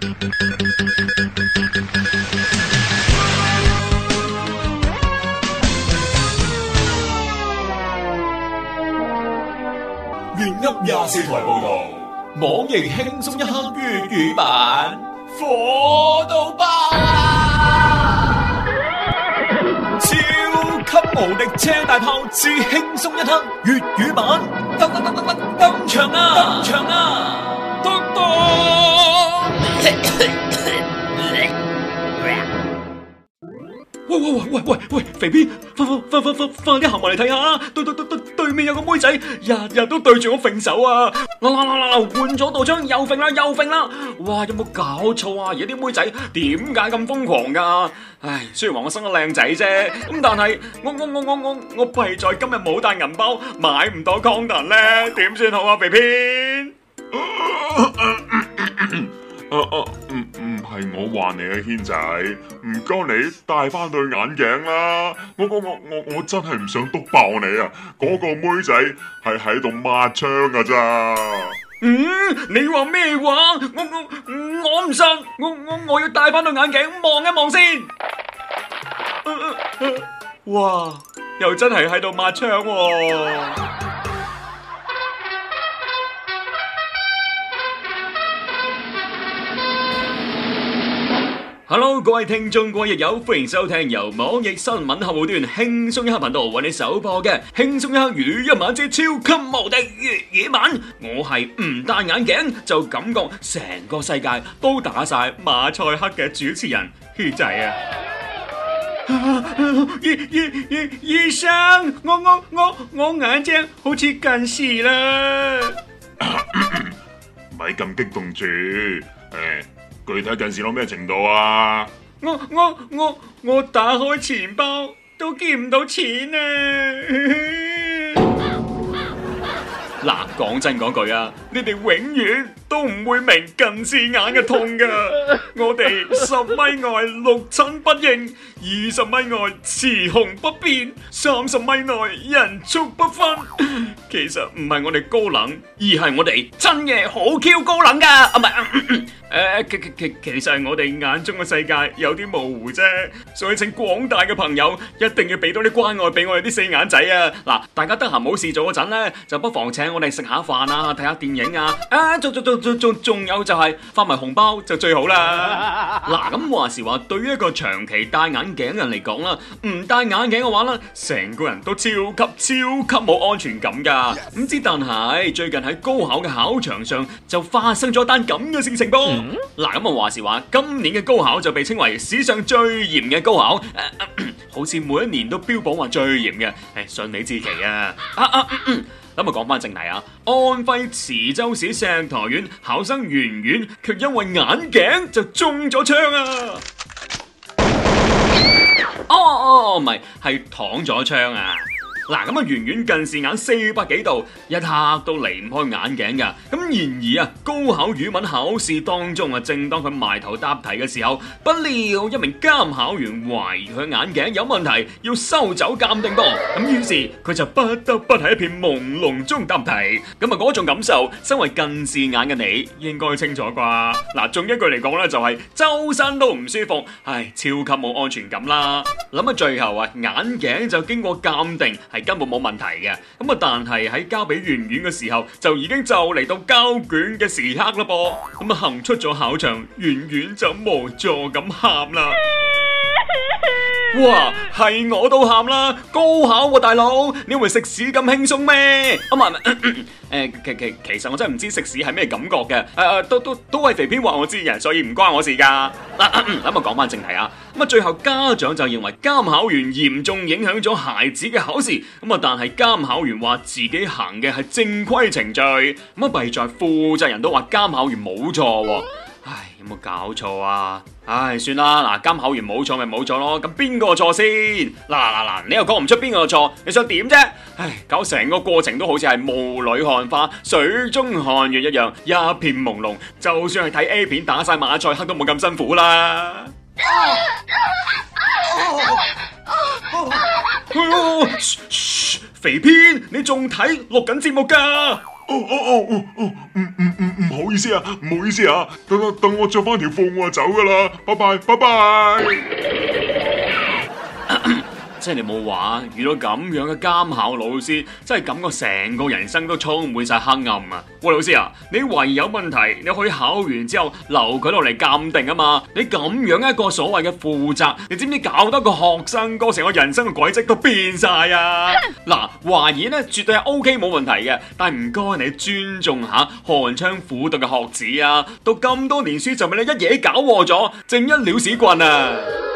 粵噏24台報道，網易輕鬆一刻粵語版，火到爆啊！超級無敵車大炮之輕鬆一刻粵語版，登場啊！喂，肥邊，快啲行埋嚟睇下，對面有個妹仔，日日都對住我揈手啊！嗱，換咗道槍又揈啦！哇，有冇搞錯啊？而家啲妹仔點解咁瘋狂噶？唉，雖然話我生得靚仔啫，咁但係我弊在今日冇帶銀包，買唔到 condom 咧，點算好啊？肥邊？ 唔係我話你啊，軒仔，唔該你戴翻對眼鏡啦。我真係唔想督爆你啊！嗰個妹仔係喺度抹槍噶咋。 你話咩話？我唔信，我要戴翻對眼鏡望一望先。哇，又真係喺度抹槍喎。Hello， 各位聽眾，各位益友，歡迎收聽由網易新聞客戶端輕鬆一刻頻道為你首播嘅輕鬆一刻粵語版之超級無敵粵語版。我係唔戴眼鏡就感覺成個世界都打晒馬賽克嘅主持人軒仔啊！醫生，我眼睛好似近視啦！ 咪咁激動住，具體近視到咩程度啊？ 我打開錢包都見唔到錢啊！嗱，講真講句啊，你哋永遠都唔會明近視眼嘅痛噶。我哋10米外六親不認，20米外雌雄不辨，30米內人畜不分。其實唔係我哋高冷，而係我哋真嘅好 Q 高冷噶。啊，唔係，其實係我哋眼中嘅世界有啲模糊啫。所以請廣大嘅朋友一定要俾多啲關愛俾我哋啲四眼仔啊！嗱，大家得閒冇事做嗰陣咧，就不妨請我哋食下飯啊，睇下電影啊，仲有就係發埋紅包就最好啦。嗱，咁話時話，對於一個長期戴眼鏡人嚟講啦，唔戴眼鏡嘅話咧，成個人都超級冇安全感噶。唔知但係最近喺高考嘅考場上就發生咗單咁嘅事情噃。嗱，咁話時話，今年嘅高考就被稱為史上最嚴嘅高考，好似每一年都標榜話最嚴嘅，順理成期啊。咁啊，講翻正題啊！安徽池州市石台縣考生圓圓，卻因為眼鏡就中咗槍啊！唔係，係躺咗槍啊！嗱，咁啊，圓圓近視眼400幾度，一刻都離唔開眼鏡噶。咁然而啊，高考語文考試當中啊，正當佢埋頭答題嘅時候，不料一名監考員懷疑佢眼鏡有問題，要收走鑑定噃。咁於是佢就不得不喺一片朦朧中答題。咁啊，嗰種感受，身為近視眼嘅你應該清楚啩？嗱，仲一句嚟講咧，就係周身都唔舒服，唉，超級冇安全感啦。諗下最後啊，眼鏡就經過鑑定，係根本冇問題嘅，咁啊，但係喺交俾圓圓嘅時候，就已經就嚟到交卷嘅時刻啦噃，咁啊，行出咗考場，圓圓就無助咁喊啦。哇，係我都喊啦！高考喎，大佬，你以為食屎咁輕鬆咩？唔係，其實我真係唔知食屎係咩感覺嘅。都係肥編話我知嘅，所以唔關我事噶。咁啊，講翻正題啊。咁啊，最後家長就認為監考員嚴重影響咗孩子嘅考試。咁啊，但係監考員話自己行嘅係正規程序。咁啊，弊在負責人都話監考員冇錯。唉，有冇搞錯啊？唉，算啦，嗱，監考員冇錯咪冇錯咯，咁邊個錯先？嗱，你又講唔出邊個錯，你想點啫？唉，搞成個過程都好似係霧裏看花、水中看月一樣，一片朦朧，就算係睇 A 片打晒馬賽克都冇咁辛苦啦。噓，肥編，你仲睇錄緊節目噶？ 唔好意思啊，唔好意思啊，等我着翻條褲我就走噶啦，拜拜拜拜。 即係你冇話，遇到咁樣嘅監考老師，真係感覺成個人生都充滿晒黑暗啊！喂，老師啊，你懷疑有問題，你可以考完之後留佢落嚟鑑定啊嘛！你咁樣一個所謂嘅負責，你知唔知搞得個學生哥成個人生嘅軌跡都變晒啊？嗱，懷疑咧絕對係 OK 冇問題嘅，但係唔該你尊重下寒窗苦讀嘅學子啊！讀咁多年書就俾你一嘢搞禍咗，正一鳥屎棍啊！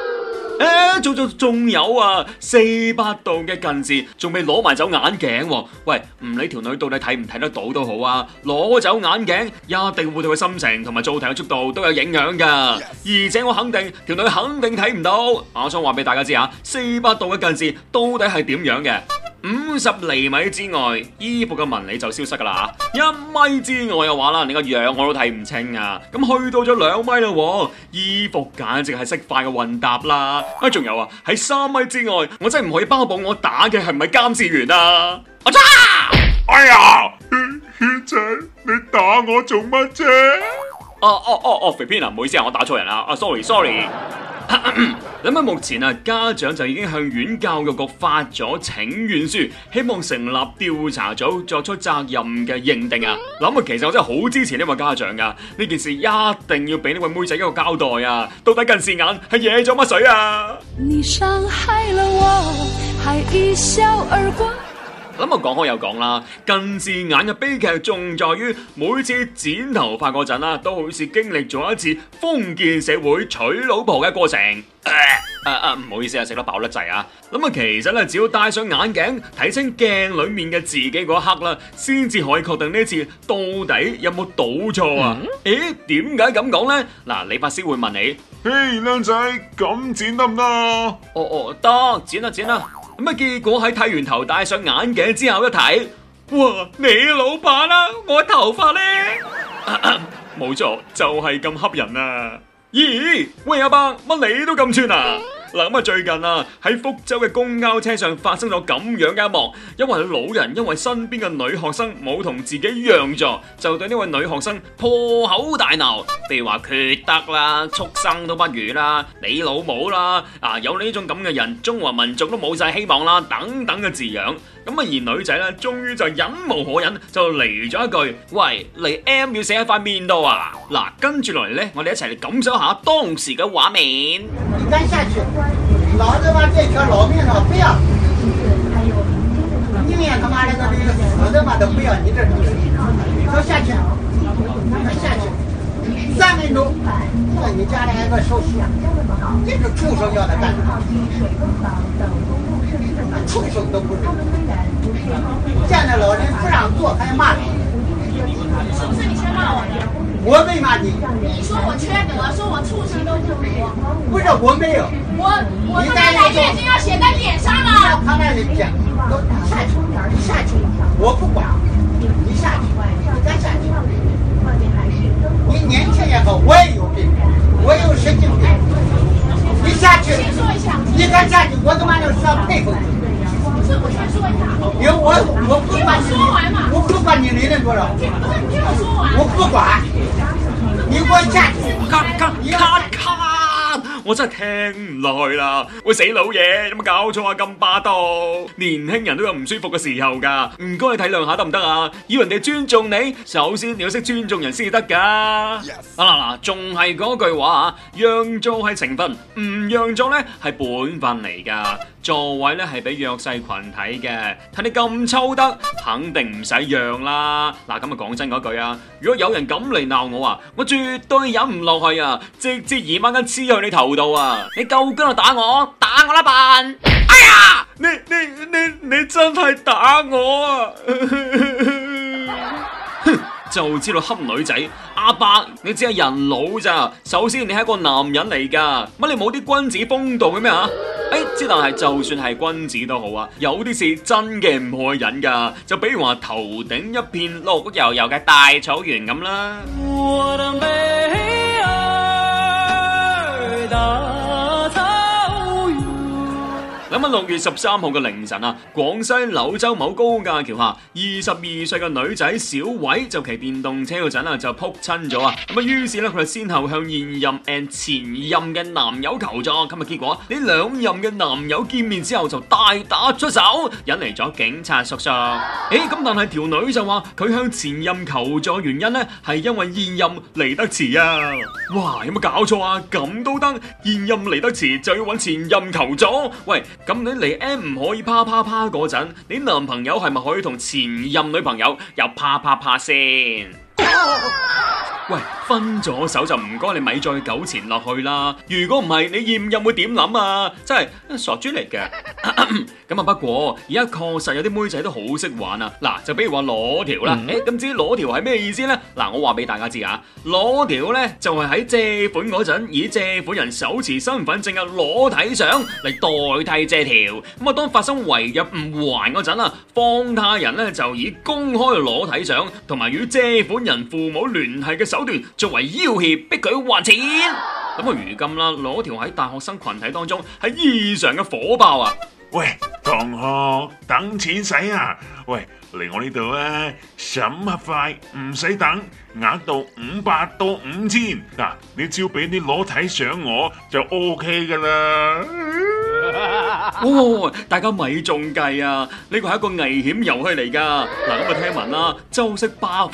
仲有啊，400度嘅近視，仲未攞埋走眼鏡喎。喂，唔理條女到底睇唔睇得到都好啊，攞走眼鏡一定會對佢心情同埋做題嘅速度都有影響噶。而且我肯定條女肯定睇唔到。我想話俾大家知下，400度嘅近視到底係點樣嘅？50厘米之外，衣服嘅紋理就消失噶啦；1米之外嘅話啦，你個樣我都睇唔清啊。咁去到咗2米啦，衣服簡直係識快嘅混搭啦。仲有啊，喺3米之外，我真係唔可以包保我打嘅係唔係監視員啊！我擦！ 哎呀，軒仔，你打我做乜啫？ 肥偏啊，唔好意思啊，我打錯人啦，sorry。咁啊，目前啊，家長就已經向縣教育局發咗請願書，希望成立調查組作出責任嘅認定啊。諗啊，其實我真係好支持呢位家長噶，呢件事一定要俾呢位妹仔一個交代啊！到底近視眼係惹咗乜水啊？你傷害了我，還一笑而過。咁啊，講開又講啦，近視眼嘅悲劇仲在於每次剪頭髮嗰陣啦，都好似經歷咗一次封建社會娶老婆嘅過程。唔好意思啊，食得飽得滯啊！咁啊，其實咧，只要戴上眼鏡，睇清鏡裏面嘅自己嗰一刻啦，先至可以確定呢次到底有冇賭錯啊？誒，點解咁講咧？嗱，理髮師會問你： 嘿，靚仔，咁剪得唔得啊？ 得，剪啦。咁啊，結果喺剃完頭戴上眼鏡之後一睇，哇！你老闆啦，我頭髮咧，冇錯，就係咁恰人啊！咦，喂阿伯，乜你都咁串啊？嗱，咁啊，最近啊喺福州嘅公交車上發生咗咁樣嘅一幕，因為老人因為身邊嘅女學生冇同自己讓座，就對呢位女學生破口大鬧，譬如話缺德啦、畜生都不如啦、你老母啦，有呢種咁嘅人，中華民族都冇晒希望啦，等等嘅字樣。咁啊，而女仔咧，終於就忍無可忍，就嚟咗一句：喂，嚟 M 要寫喺塊面度啊！嗱，跟住落嚟咧，我哋一齊嚟感受下當時嘅畫面。 你敢下去？老子把這條老命都不要，你連他媽的個死的嘛都不要，你這都下去，下去，3分鐘，你家裡還有個手術，這個畜生要他幹啥？畜生都不是，見到老人不讓坐還罵你， 是不是你先罵我的？ 我沒罵你。 你說我缺德，說我畜生都不如。 不是，我沒有。 我他媽來月經要寫在臉上了。 他那裡講，你下去，我不管，你下去，你敢下去？你年輕也好，我也有病，我有神經病。你下去， 先說一下。 你敢下去，我他媽就上佩服你。 不是，我先說一下。 因為我不管你，我不管你理論多少， 不是，你聽我說完。 我不管，你給我下去。 咔！我真係聽唔落去啦！喂，死老嘢，有冇搞錯啊？咁霸道，年輕人都有唔舒服嘅時候噶，唔該你體諒下得唔得啊？要人哋尊重你，首先你要識尊重人先至得噶。嗱，仲係嗰句話啊，讓座係情分，唔讓座咧係本分嚟噶。座位咧係俾弱勢群體嘅，睇你咁抽得，肯定唔使讓啦。嗱，咁啊講真嗰句啊，如果有人咁嚟鬧我啊，我絕對忍唔落去啊，直接移掹根黐去你頭度啊！你夠薑就打我啦笨！哎呀，你真係打我啊！就知道恰女仔，阿伯你只係人老咋？首先你係一個男人嚟噶，乜你冇啲君子風度嘅咩啊？之但係就算係君子都好啊，有啲事真嘅唔可以忍噶，就比如話頭頂一片綠油油嘅大草原咁啦。我的美兒大草原。咁咁喺6月13號嘅凌晨啊，廣西柳州某高架橋下，22歲嘅女仔小偉就騎電動車嗰陣啊就撲親咗啊！咁啊，於是咧佢就先後向現任前任嘅男友求助，咁啊結果呢兩任嘅男友見面之後就大打出手，引嚟咗警察叔叔。咁但係條女就話佢向前任求助原因呢係因為現任嚟得遲啊！哇，有冇搞錯啊？咁都得？現任嚟得遲就要揾前任求助？喂，咁你嚟 M 唔可以啪啪啪嗰陣，你男朋友係咪可以同前任女朋友又啪啪啪先？喂，分咗手就唔該你咪再糾纏落去啦！如果唔係，你現任會點諗啊？真係傻豬嚟嘅。咁啊，不過而家確實有啲妹仔都好識玩啊！嗱，就比如話裸條啦。咁至於裸條係咩意思呢？嗱，我話俾大家知啊，裸條呢就係喺借款嗰陣，以借款人手持身份證嘅裸體相嚟代替借條。咁啊，當發生違約唔還嗰陣啊，放貸人呢就以公開裸體相同埋與借款人父母聯繫嘅手段作為要挾，逼佢還錢。咁啊，如今啦，裸條喺大學生群體當中係異常嘅火爆啊！ 喂，同學，等錢使啊！喂，嚟我呢度啊，審核快，唔使等，額度500到5000。嗱，你只要俾啲裸體相我就 OK 噶啦。 大家咪中計啊！呢個係一個危險遊戲嚟噶。嗱，咁啊聽聞啦，周息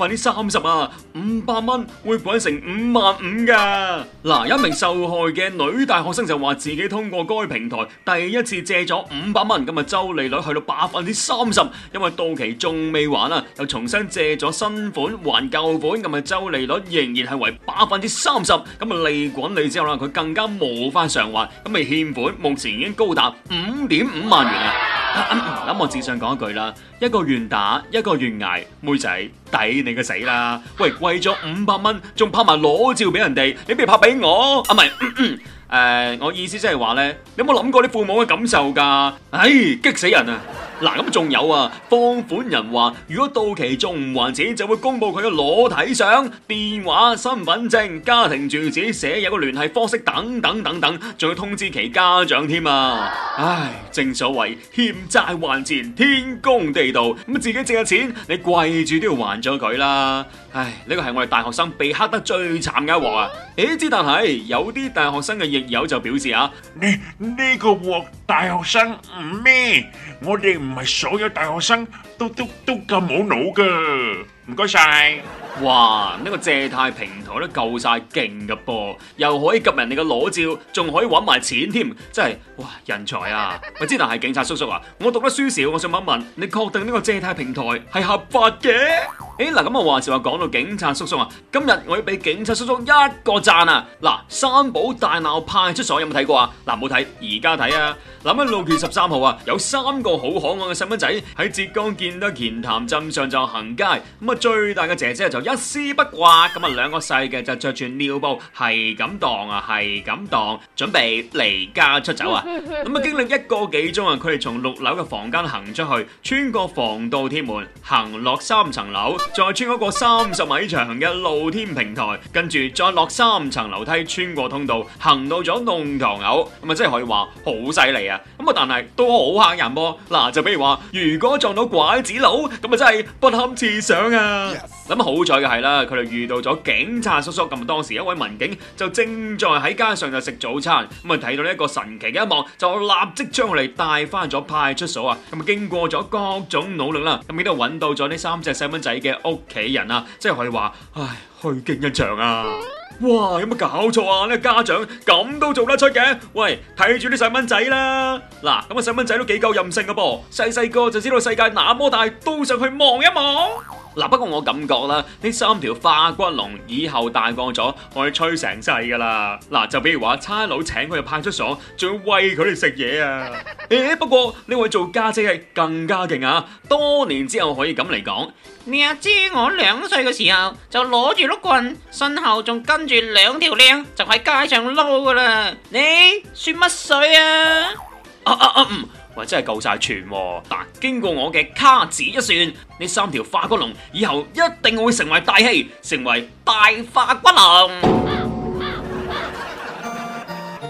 30%啊，500蚊會滾成55000噶。嗱，一名受害嘅女大學生就話自己通過該平台第一次借咗500蚊，咁啊周利率去到30%，因為到期仲未還啊，又重新借咗新款還舊款，咁啊周利率仍然係為30%，咁啊利滾利之後啦，佢更加無法償還，咁啊欠款目前已經高達5.5萬元啊！咁我只想講一句啦，一個願打，一個願捱，妹仔抵你個死啦！喂，為咗500蚊，仲拍埋裸照俾人哋，你不如拍俾我啊？唔係，我意思即係話咧，你有冇諗過啲父母嘅感受㗎？唉，激死人啊！嗱，咁仲有啊，放款人話如果到期仲唔還錢，就會公布佢嘅裸體相、電話、身份證、家庭住址、寫有個聯繫方式等等等等，仲要通知其家長添啊！唉，正所謂欠債還錢，天公地道，咁自己借嘅錢，你跪住都要還咗佢啦！唉，呢個係我哋大學生被黑得最慘嘅一鑊啊！之但係有啲大學生嘅亦友就表示啊， 呢個鑊大學生唔咩，我哋唔係所有大學生都咁冇腦噶，唔該晒。 哇！呢個借貸平台都夠晒勁噶噃，又可以及人哋嘅裸照，仲可以搵埋錢添，真係哇人才啊！喂，之但係警察叔叔啊，我讀得書少，我想問一問，你確定呢個借貸平台係合法嘅？嗱，咁啊話時話講到警察叔叔啊，今日我要俾警察叔叔一個讚啊！嗱，三寶大鬧派出所有冇睇過啊？嗱，冇睇，而家睇啊！嗱，喺6月13號啊，有3個好可愛嘅細蚊仔喺浙江建德乾潭鎮上就行街，咁啊最大嘅姐姐就一絲不掛，咁啊2個細嘅就着住尿布係咁蕩，準備離家出走啊！咁啊經歷1個幾鐘啊，佢哋從6樓嘅房間行出去，穿過防盜鐵門，行落3層樓，再穿過個30米長嘅露天平台，跟住再落3層樓梯，穿過通道，行到咗弄堂口，咁啊真係可以話好犀利啊！咁啊但係都好嚇人噃，嗱就比如話如果撞到拐子佬，咁啊真係不堪設想啊！咁好彩嘅係啦，佢哋遇到咗警察叔叔，咁當時一位民警就正在喺街上就食早餐，咁啊睇到呢一個神奇嘅一幕，就立即將佢哋帶翻咗派出所啊！咁啊經過咗各種努力啦，咁亦都揾到咗呢3隻細蚊仔嘅屋企人啊，即係可以話，唉，虛驚一場啊！哇，有冇搞錯啊？呢個家長咁都做得出嘅？喂，睇住啲細蚊仔啦！嗱，咁啊細蚊仔都幾夠任性嘅噃，細個就知道世界那麼大，都想去望一望。嗱，不過我感覺啦，呢3條化骨龍以後大個咗，可以吹成世噶啦。嗱，就比如話差佬請佢入派出所，仲要餵佢哋食嘢啊！不過呢位做家姐係更加勁啊！多年之後可以咁嚟講， 你阿姐我2歲嘅時候就攞住碌棍，身後仲跟住2條靚，就喺街上撈噶啦。你算乜水啊？ 喂，真係夠晒全喎！嗱，經過我嘅卡指一算，呢3條化骨龍以後一定會成為大戲，成為大化骨龍。好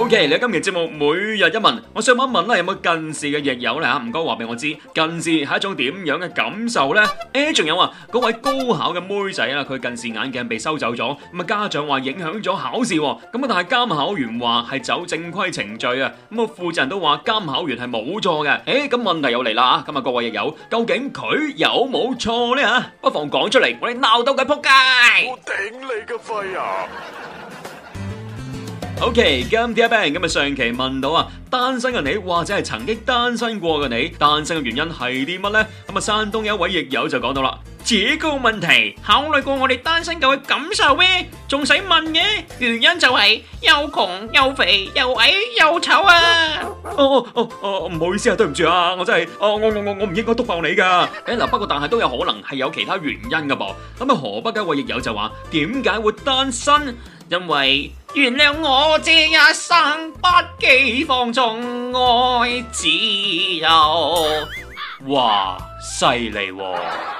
OK， 你今期節目每日一問，我想問一問啦，有冇近視嘅益友咧吓？唔該話俾我知，近視係一種點樣嘅感受呢？仲有啊，嗰位高考嘅妹仔啦，佢近視眼鏡被收走咗，咁啊家長話影響咗考試，咁啊但係監考員話係走正規程序啊，咁啊負責人都話監考員係冇錯嘅。咁問題又嚟啦，今日各位益友，究竟佢有冇錯呢？吓？不妨講出嚟，我哋鬧到佢撲街。 我頂你個肺啊 ！OK， 今天 Bang 咁啊，上期問到啊，單身嘅你或者係曾經單身過嘅你，單身嘅原因係啲乜呢？咁啊，山東有一位益友就講到啦，這個問題考慮過我哋單身狗嘅感受咩？仲使問嘅？原因就係又窮又肥又矮又醜啊！ 唔好意思啊，對唔住啊，我真係我唔應該督爆你噶。嗱，不過但係都有可能係有其他原因噶噃。咁啊，河北嘅一位益友就話，點解會單身？ 因為原諒我這一生不羈放縱愛自由。 哇，犀利喎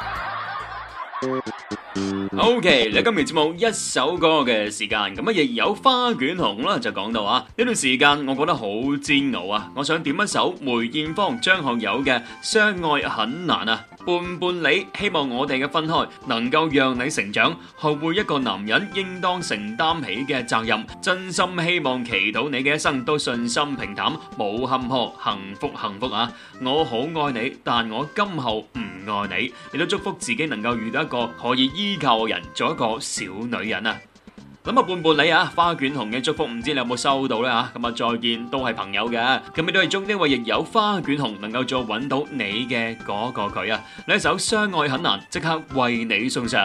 ！OK， 你今期節目一首歌嘅時間，咁啊亦有花捲紅啦，就講到啊呢段時間我覺得好煎熬啊，我想點一首梅艷芳、張學友嘅《相愛很難》啊，伴伴你，希望我哋嘅分開能夠讓你成長，學會一個男人應當承擔起嘅責任，真心希望祈禱你嘅一生都順心平淡，冇坎坷，幸福幸福啊！我好愛你，但我今後唔愛你，亦都祝福自己能夠遇到一個可以依靠嘅人，做一個小女人啊！咁啊，伴伴你啊，花捲紅嘅祝福，唔知你有冇收到呢？吓？咁啊，再見都係朋友嘅，咁亦都係祝呢位亦有花捲紅能夠再揾到你嘅嗰個佢啊！呢一首《相愛很難》，即刻為你送上。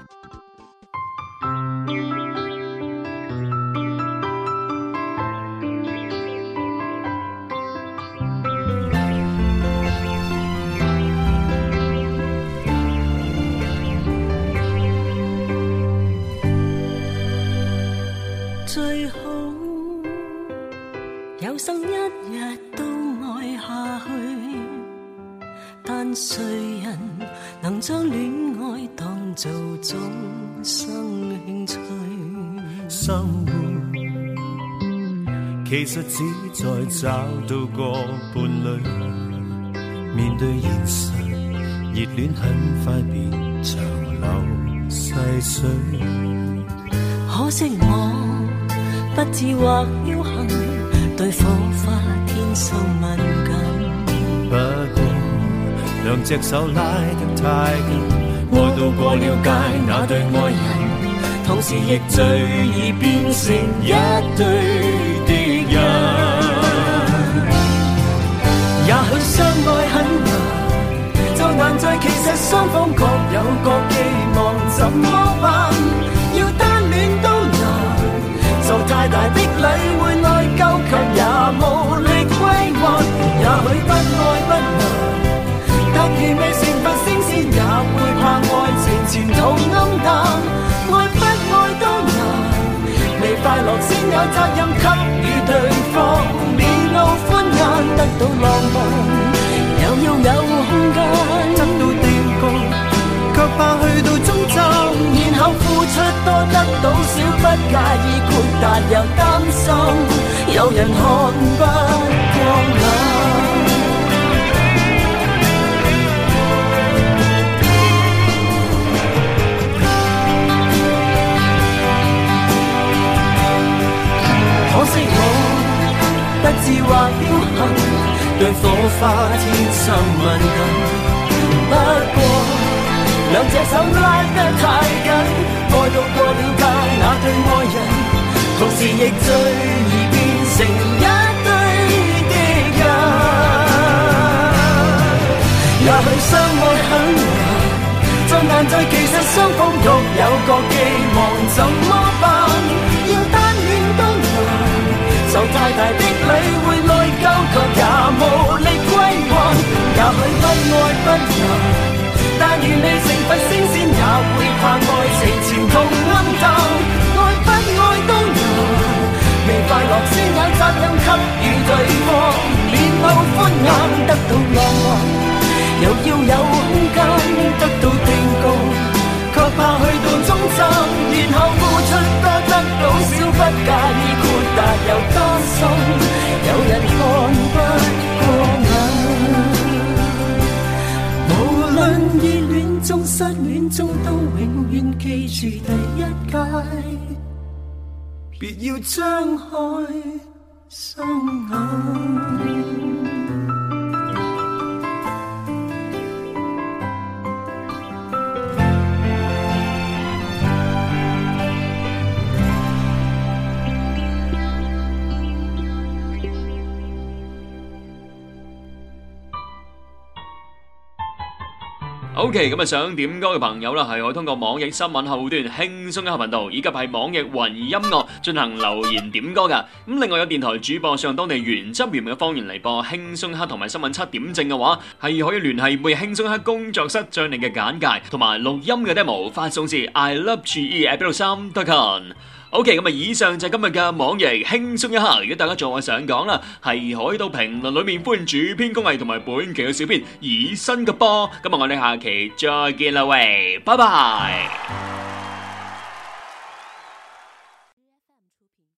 最好有生一日都愛下去，但誰人能將戀愛當做終生興趣？ 生活其實只在找到個伴侶，面對現實，熱戀很快變長流細水。 可惜我不智或僥倖，對火花天生敏感。 不過兩隻手拉得太緊，愛到過了界那對愛人， 同時亦最易變成一對敵人。也許相愛很難，就難在其實雙方各有各寄望，怎麼辦？要單戀都難，受太大的禮會內疚，卻也無力歸還。也許不愛不難，但如未成佛升仙，也會怕愛情前途暗淡。愛不愛都難，未快樂先有責任給予對方，面露歡顏，得到浪漫，又要有空間，得到定局，卻怕去到終站，然後付出多得到少，不介意豁達又擔心，有人看不過眼。可惜我不智或僥倖，對火花天生敏感。不過兩隻手拉得太緊，愛到過了界那對愛人，同時亦最易變成一對敵人。也許相愛很難，就難在其實雙方各有各寄望，怎麼辦？要單戀都難，受太大的禮會內疚，卻也無力歸還。也許不愛不難，但願未成佛升仙，也會怕愛情前途暗淡。愛不愛都難，未快樂先有責任給予對方，面露歡顏，得到浪漫，又要有空間，得到定局，卻怕去到終站，然後付出多得到少，不介意豁達又擔心， 別要張開雙眼。 OK， 咁想點歌嘅朋友啦，係可以通過網易新聞後端輕鬆一刻頻道，以及係網易雲音樂進行留言點歌噶。咁另外有電台主播上當地原汁原味嘅方言嚟播輕鬆一刻同埋新聞7點正嘅話，係可以聯繫每日輕鬆一刻工作室，將你嘅簡介同埋錄音嘅 demo 發送至 iLoveGE@163.com。OK， 咁以上就係今日嘅網易輕鬆一刻。如果大家仲有想講啦，係可以到評論裏面歡迎主編工藝同埋本期嘅小編以身嘅波。今日我哋下期再見啦喂，拜拜。